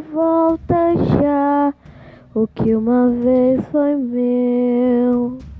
volta já o que uma vez foi meu.